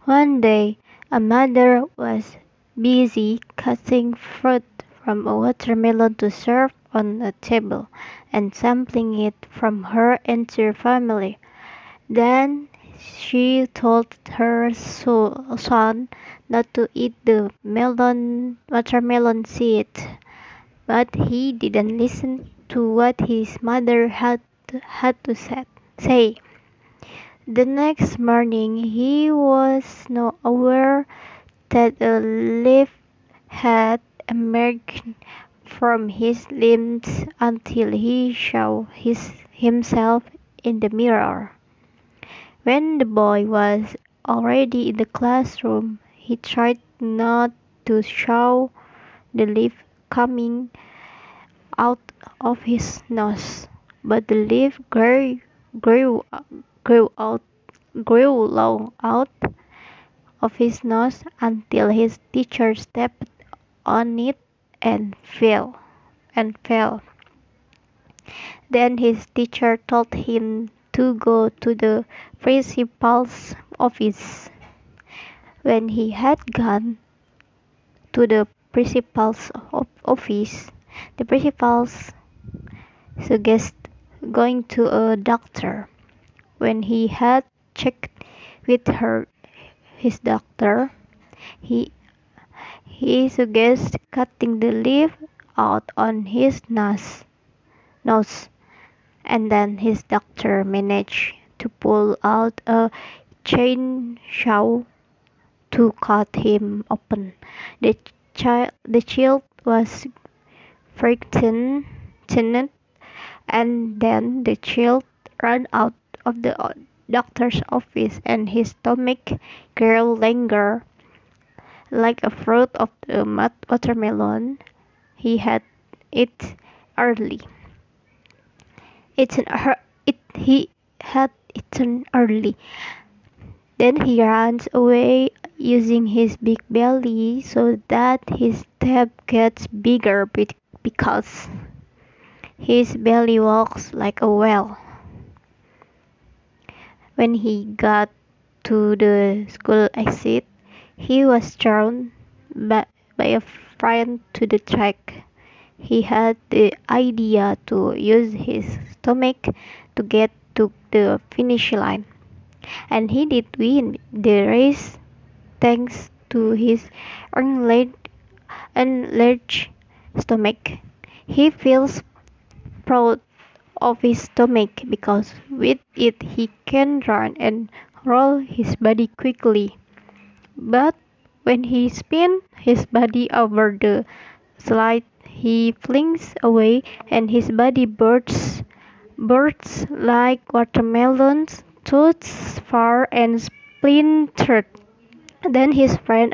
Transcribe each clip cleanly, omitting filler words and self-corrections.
One day, a mother was busy cutting fruit from a watermelon to serve on a table and sampling it from her entire family. Then she told her son not to eat the watermelon seed, but he didn't listen to what his mother had to say. The next morning he was not aware that a leaf had emerged from his limbs until he saw himself in the mirror. When the boy was already in the classroom, he tried not to show the leaf coming out of his nose, but the leaf grew, grew out, grew long out of his nose until his teacher stepped on it and fell. Then his teacher told him to go to the principal's office. When he had gone to the principal's office, the principal suggested going to a doctor. When he had checked with his doctor, he he suggested cutting the leaf out on his nose, and then his doctor managed to pull out a chainsaw to cut him open. The child was frightened, and then the child ran out of the doctor's office, and his stomach grew longer, like a fruit of the watermelon he had it early. He had eaten early. Then he runs away using his big belly so that his step gets bigger because his belly walks like a whale. When he got to the school exit, he was thrown by a friend to the track. He had the idea to use his stomach to get to the finish line, and he did win the race thanks to his enlarged stomach. He feels proud of his stomach because with it he can run and roll his body quickly. But when he spins his body over the slide, he flings away and his body bursts like watermelons, tooths far and splintered. Then his friend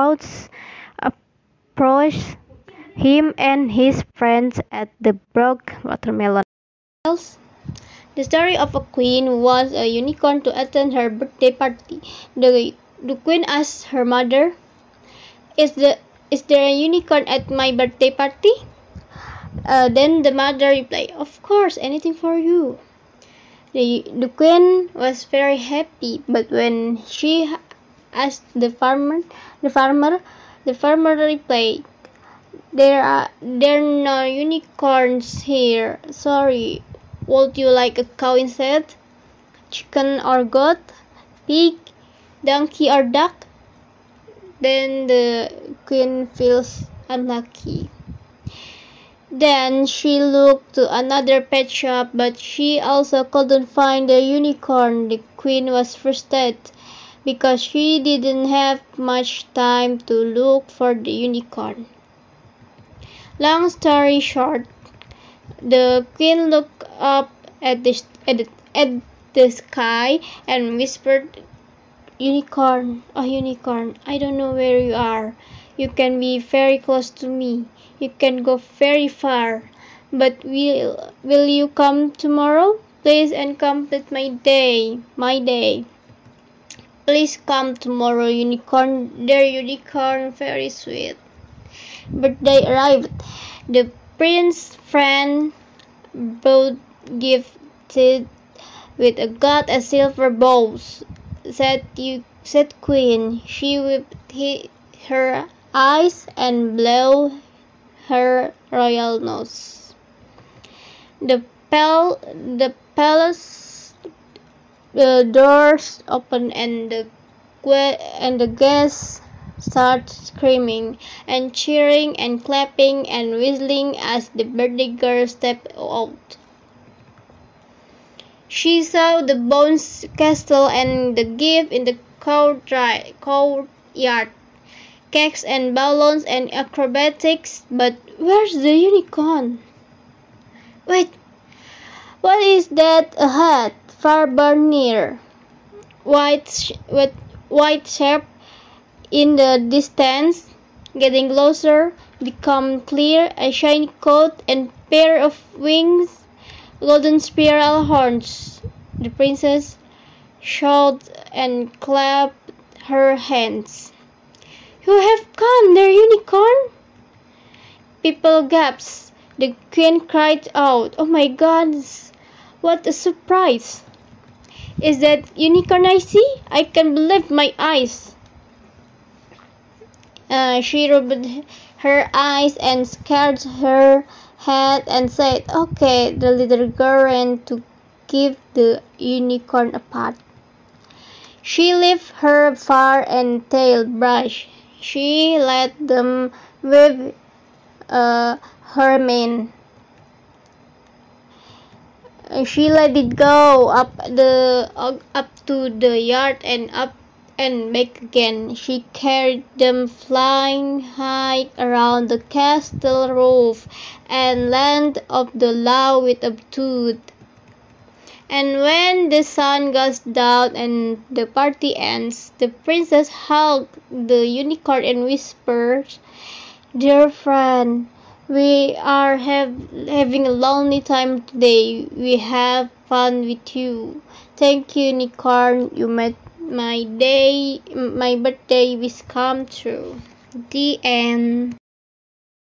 approached him and his friends at the broke watermelon. The story of a queen was a unicorn to attend her birthday party. The queen asked her mother, Is there a unicorn at my birthday party? Then the mother replied, Of course, anything for you. The queen was very happy, but when she asked the farmer, the farmer replied, there are no unicorns here. Sorry. Would you like a cow instead? Chicken or goat? Pig? Donkey or duck? Then the queen feels unlucky. Then she looked to another pet shop, but she also couldn't find the unicorn. The queen was frustrated because she didn't have much time to look for the unicorn. Long story short, the queen looked up at the sky and whispered, Unicorn, oh unicorn, I don't know where you are. You can be very close to me. You can go very far. But will you come tomorrow? Please and complete my day. Please come tomorrow, unicorn. Dear unicorn, very sweet. Birthday arrived. The prince's friend brought gifted with a silver bowl said Queen. She wiped her eyes and blew her royal nose. The palace doors opened and the guests started screaming and cheering and clapping and whistling as the birthday girl stepped out. She saw the bones castle and the gift in the courtyard, cakes and balloons and acrobatics, but where's the unicorn? Wait, what is that ahead, far near? White shape in the distance, getting closer, become clear, a shiny coat and pair of wings, golden spiral horns. The princess shouted and clapped her hands. You have come, dear unicorn! People gasped. The queen cried out, "Oh my God! What a surprise! Is that unicorn I see? I can't believe my eyes!" She rubbed her eyes and scratched her head and said, "Okay." The little girl ran to give the unicorn a pat. She lifted her fur and tail brush. She let them wave her mane. She let it go up to the yard and up and back again. She carried them flying high around the castle roof and landed on the lawn with a toot. And when the sun goes down and the party ends, the princess hugged the unicorn and whispered, "Dear friend, we are having a lonely time today. We have fun with you. Thank you, unicorn. You made my birthday wish come true." The end.